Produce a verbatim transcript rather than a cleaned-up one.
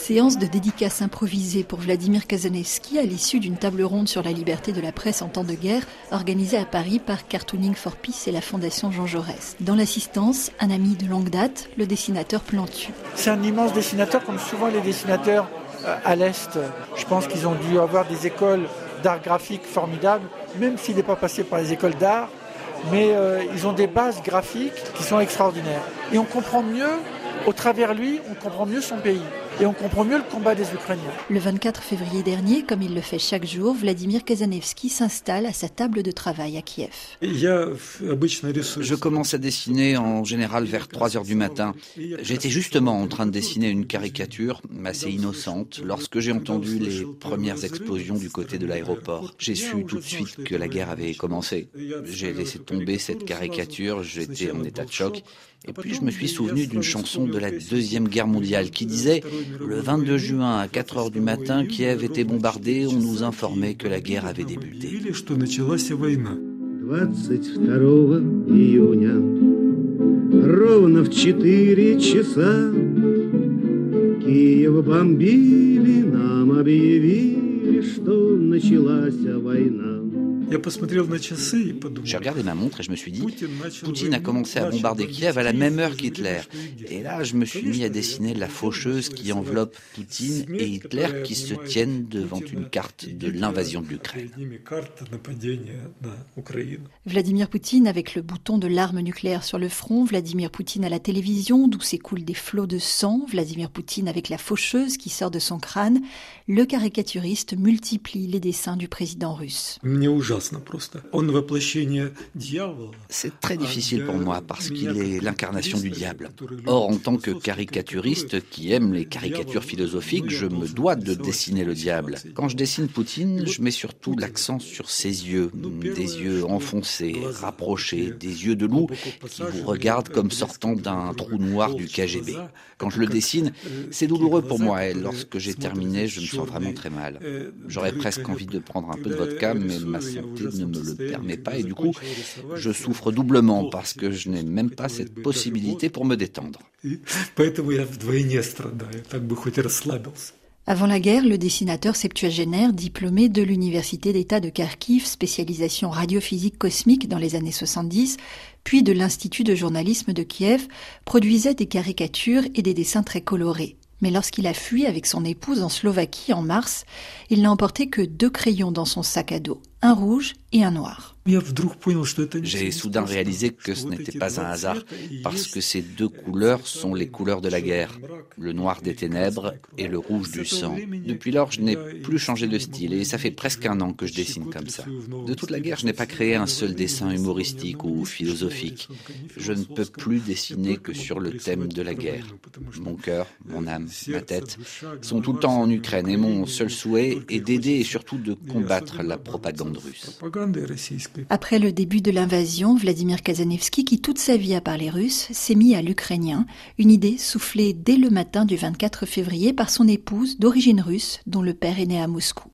Séance de dédicace improvisée pour Vladimir Kazanevski à l'issue d'une table ronde sur la liberté de la presse en temps de guerre organisée à Paris par Cartooning for Peace et la Fondation Jean Jaurès. Dans l'assistance, un ami de longue date, le dessinateur Plantu. C'est un immense dessinateur, comme souvent les dessinateurs euh, à l'Est. Je pense qu'ils ont dû avoir des écoles d'art graphique formidables, même s'il n'est pas passé par les écoles d'art, mais euh, ils ont des bases graphiques qui sont extraordinaires. Et on comprend mieux, au travers lui, on comprend mieux son pays. Et on comprend mieux le combat des Ukrainiens. Le vingt-quatre février dernier, comme il le fait chaque jour, Vladimir Kazanevski s'installe à sa table de travail à Kiev. Je commence à dessiner en général vers trois heures du matin. J'étais justement en train de dessiner une caricature assez innocente lorsque j'ai entendu les premières explosions du côté de l'aéroport. J'ai su tout de suite que la guerre avait commencé. J'ai laissé tomber cette caricature, j'étais en état de choc. Et puis je me suis souvenu d'une chanson de la Deuxième Guerre mondiale qui disait « Le vingt-deux juin à quatre heures du matin, Kiev était bombardé, on nous informait que la guerre avait débuté. » двадцать второго июня ровно в четыре часа Киев бомбили, нам объявили, что началась война. J'ai regardé ma montre et je me suis dit, Poutine a commencé à bombarder Kiev à la même heure qu'Hitler. Et là, je me suis mis à dessiner la faucheuse qui enveloppe Poutine et Hitler qui se tiennent devant une carte de l'invasion de l'Ukraine. Vladimir Poutine avec le bouton de l'arme nucléaire sur le front, Vladimir Poutine à la télévision d'où s'écoulent des flots de sang, Vladimir Poutine avec la faucheuse qui sort de son crâne, le caricaturiste multiplie les dessins du président russe. C'est très difficile pour moi parce qu'il est l'incarnation du diable. Or, en tant que caricaturiste qui aime les caricatures philosophiques, je me dois de dessiner le diable. Quand je dessine Poutine, je mets surtout l'accent sur ses yeux, des yeux enfoncés, rapprochés, des yeux de loup qui vous regardent comme sortant d'un trou noir du K G B. Quand je le dessine, c'est douloureux pour moi et lorsque j'ai terminé, je me sens vraiment très mal. J'aurais presque envie de prendre un peu de vodka, mais ma santé ne me le permet pas et du coup, je souffre doublement parce que je n'ai même pas cette possibilité pour me détendre. Avant la guerre, le dessinateur septuagénaire, diplômé de l'Université d'État de Kharkiv, spécialisation radiophysique cosmique dans les années soixante-dix, puis de l'Institut de journalisme de Kiev, produisait des caricatures et des dessins très colorés. Mais lorsqu'il a fui avec son épouse en Slovaquie en mars, il n'a emporté que deux crayons dans son sac à dos, un rouge et un noir. J'ai soudain réalisé que ce n'était pas un hasard, parce que ces deux couleurs sont les couleurs de la guerre, le noir des ténèbres et le rouge du sang. Depuis lors, je n'ai plus changé de style et ça fait presque un an que je dessine comme ça. De toute la guerre, je n'ai pas créé un seul dessin humoristique ou philosophique. Je ne peux plus dessiner que sur le thème de la guerre. Mon cœur, mon âme, ma tête sont tout le temps en Ukraine et mon seul souhait est d'aider et surtout de combattre la propagande russe. Après le début de l'invasion, Vladimir Kazanevski, qui toute sa vie a parlé russe, s'est mis à l'ukrainien, une idée soufflée dès le matin du vingt-quatre février par son épouse d'origine russe, dont le père est né à Moscou.